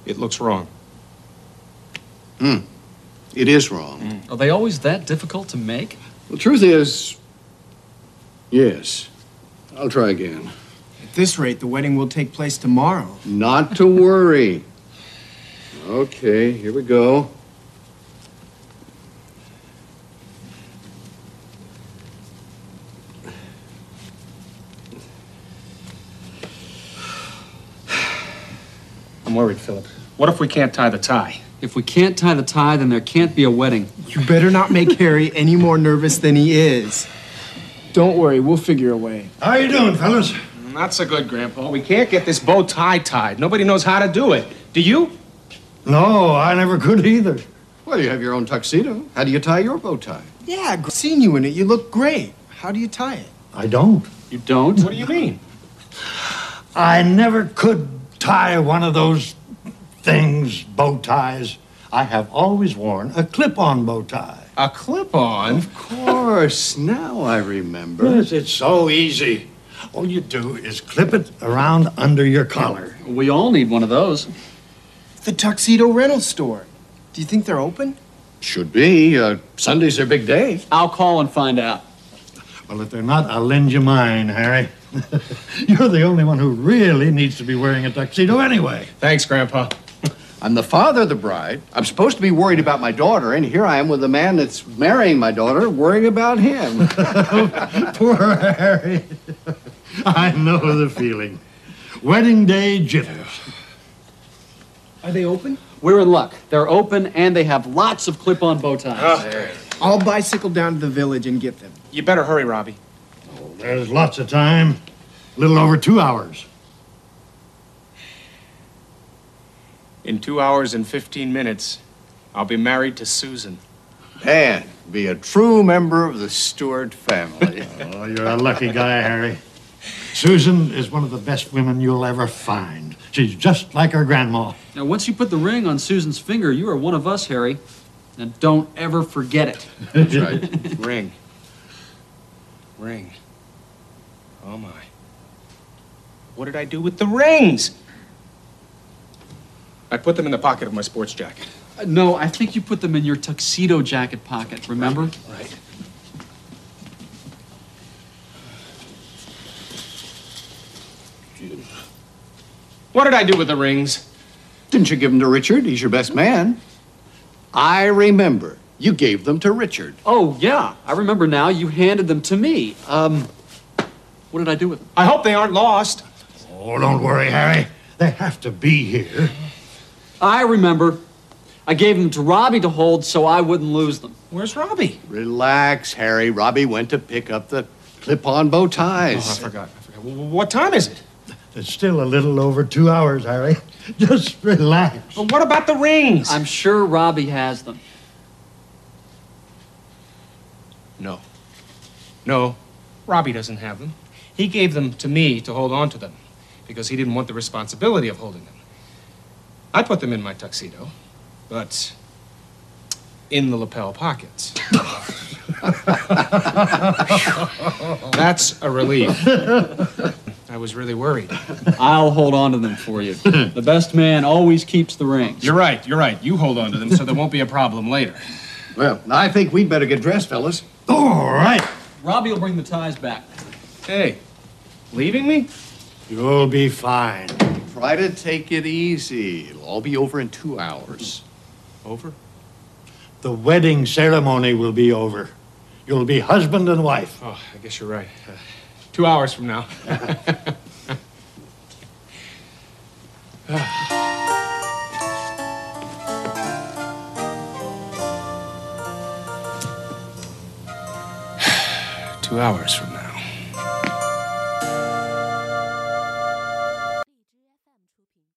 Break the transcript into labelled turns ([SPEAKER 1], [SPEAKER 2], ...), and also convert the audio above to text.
[SPEAKER 1] It looks wrong.
[SPEAKER 2] It is wrong.
[SPEAKER 3] Are they always that difficult to make?
[SPEAKER 2] The truth is, yes. I'll try again.
[SPEAKER 4] At this rate, the wedding will take place tomorrow.
[SPEAKER 2] Not to worry. Okay, here we go.
[SPEAKER 1] I'm worried, Philip. What if we can't tie the tie?
[SPEAKER 3] If we can't tie the tie, then there can't be a wedding.
[SPEAKER 4] You better not make Harry any more nervous than he is. Don't worry, we'll figure a way.
[SPEAKER 5] How you doing, fellas?
[SPEAKER 1] Not so good, Grandpa. We can't get this bow tie tied. Nobody knows how to do it. Do you?
[SPEAKER 5] No, I never could either.
[SPEAKER 2] Well, you have your own tuxedo. How do you tie your bow tie?
[SPEAKER 4] Yeah, I've seen you in it. You look great. How do you tie it?
[SPEAKER 5] I don't.
[SPEAKER 3] You don't?
[SPEAKER 1] What do you mean?
[SPEAKER 5] I never could tie one of those things, bow ties. I have always worn a clip-on bow tie.
[SPEAKER 1] A clip-on?
[SPEAKER 2] Of course. Now I remember.
[SPEAKER 5] Yes, it's so easy. All you do is clip it around under your collar.
[SPEAKER 3] We all need one of those.
[SPEAKER 4] The tuxedo rental store. Do you think they're open?
[SPEAKER 2] Should be. Sunday's their big day.
[SPEAKER 3] I'll call and find out.
[SPEAKER 5] Well, if they're not, I'll lend you mine, Harry. You're the only one who really needs to be wearing a tuxedo anyway.
[SPEAKER 1] Thanks, Grandpa.
[SPEAKER 2] I'm the father of the bride. I'm supposed to be worried about my daughter, and here I am with the man that's marrying my daughter, worrying about him.
[SPEAKER 5] Poor Harry. I know the feeling. Wedding day jitters.
[SPEAKER 4] Are they open?
[SPEAKER 3] We're in luck. They're open and they have lots of clip-on bow ties.
[SPEAKER 4] I'll bicycle down to the village and get them.
[SPEAKER 1] You better hurry, Robbie.
[SPEAKER 5] Oh, there's lots of time. A little over 2 hours.
[SPEAKER 1] In 2 hours and 15 minutes, I'll be married to Susan.
[SPEAKER 2] And be a true member of the Stewart family.
[SPEAKER 5] Oh, you're a lucky guy, Harry. Susan is one of the best women you'll ever find. She's just like her grandma.
[SPEAKER 3] Now, once you put the ring on Susan's finger, you are one of us, Harry. And don't ever forget it.
[SPEAKER 2] That's right.
[SPEAKER 1] Ring. Ring. Oh, my. What did I do with the rings? I put them in the pocket of my sports jacket.
[SPEAKER 3] No, I think you put them in your tuxedo jacket pocket, remember?
[SPEAKER 1] Right. What did I do with the rings?
[SPEAKER 2] Didn't you give them to Richard? He's your best man. I remember. You gave them to Richard.
[SPEAKER 3] Oh, yeah. I remember now. You handed them to me. What did I do with them?
[SPEAKER 1] I hope they aren't lost.
[SPEAKER 5] Oh, don't worry, Harry. They have to be here.
[SPEAKER 3] I remember. I gave them to Robbie to hold so I wouldn't lose them.
[SPEAKER 1] Where's Robbie?
[SPEAKER 2] Relax, Harry. Robbie went to pick up the clip-on bow
[SPEAKER 1] Oh, I
[SPEAKER 2] ties.
[SPEAKER 1] forgot. What time is it?
[SPEAKER 5] It's still a little over 2 hours, Harry. Just relax.
[SPEAKER 1] But what about the rings?
[SPEAKER 3] I'm sure Robbie has them.
[SPEAKER 1] No. No, Robbie doesn't have them. He gave them to me to hold on to them because he didn't want the responsibility of holding them. I put them in my tuxedo, but in the lapel pockets. That's a relief. I was really worried.
[SPEAKER 3] I'll hold on to them for you. The best man always keeps the rings.
[SPEAKER 1] You're right, you're right. You hold on to them so there won't be a problem later.
[SPEAKER 2] Well, I think we'd better get dressed, fellas.
[SPEAKER 5] All right.
[SPEAKER 3] Robbie will bring the ties back.
[SPEAKER 1] Hey, leaving me?
[SPEAKER 5] You'll be fine.
[SPEAKER 2] Try to take it easy. It'll all be over in 2 hours.
[SPEAKER 1] Over?
[SPEAKER 5] The wedding ceremony will be over. You'll be husband and wife.
[SPEAKER 1] Oh, I guess you're right. 2 hours from now. Two hours from now.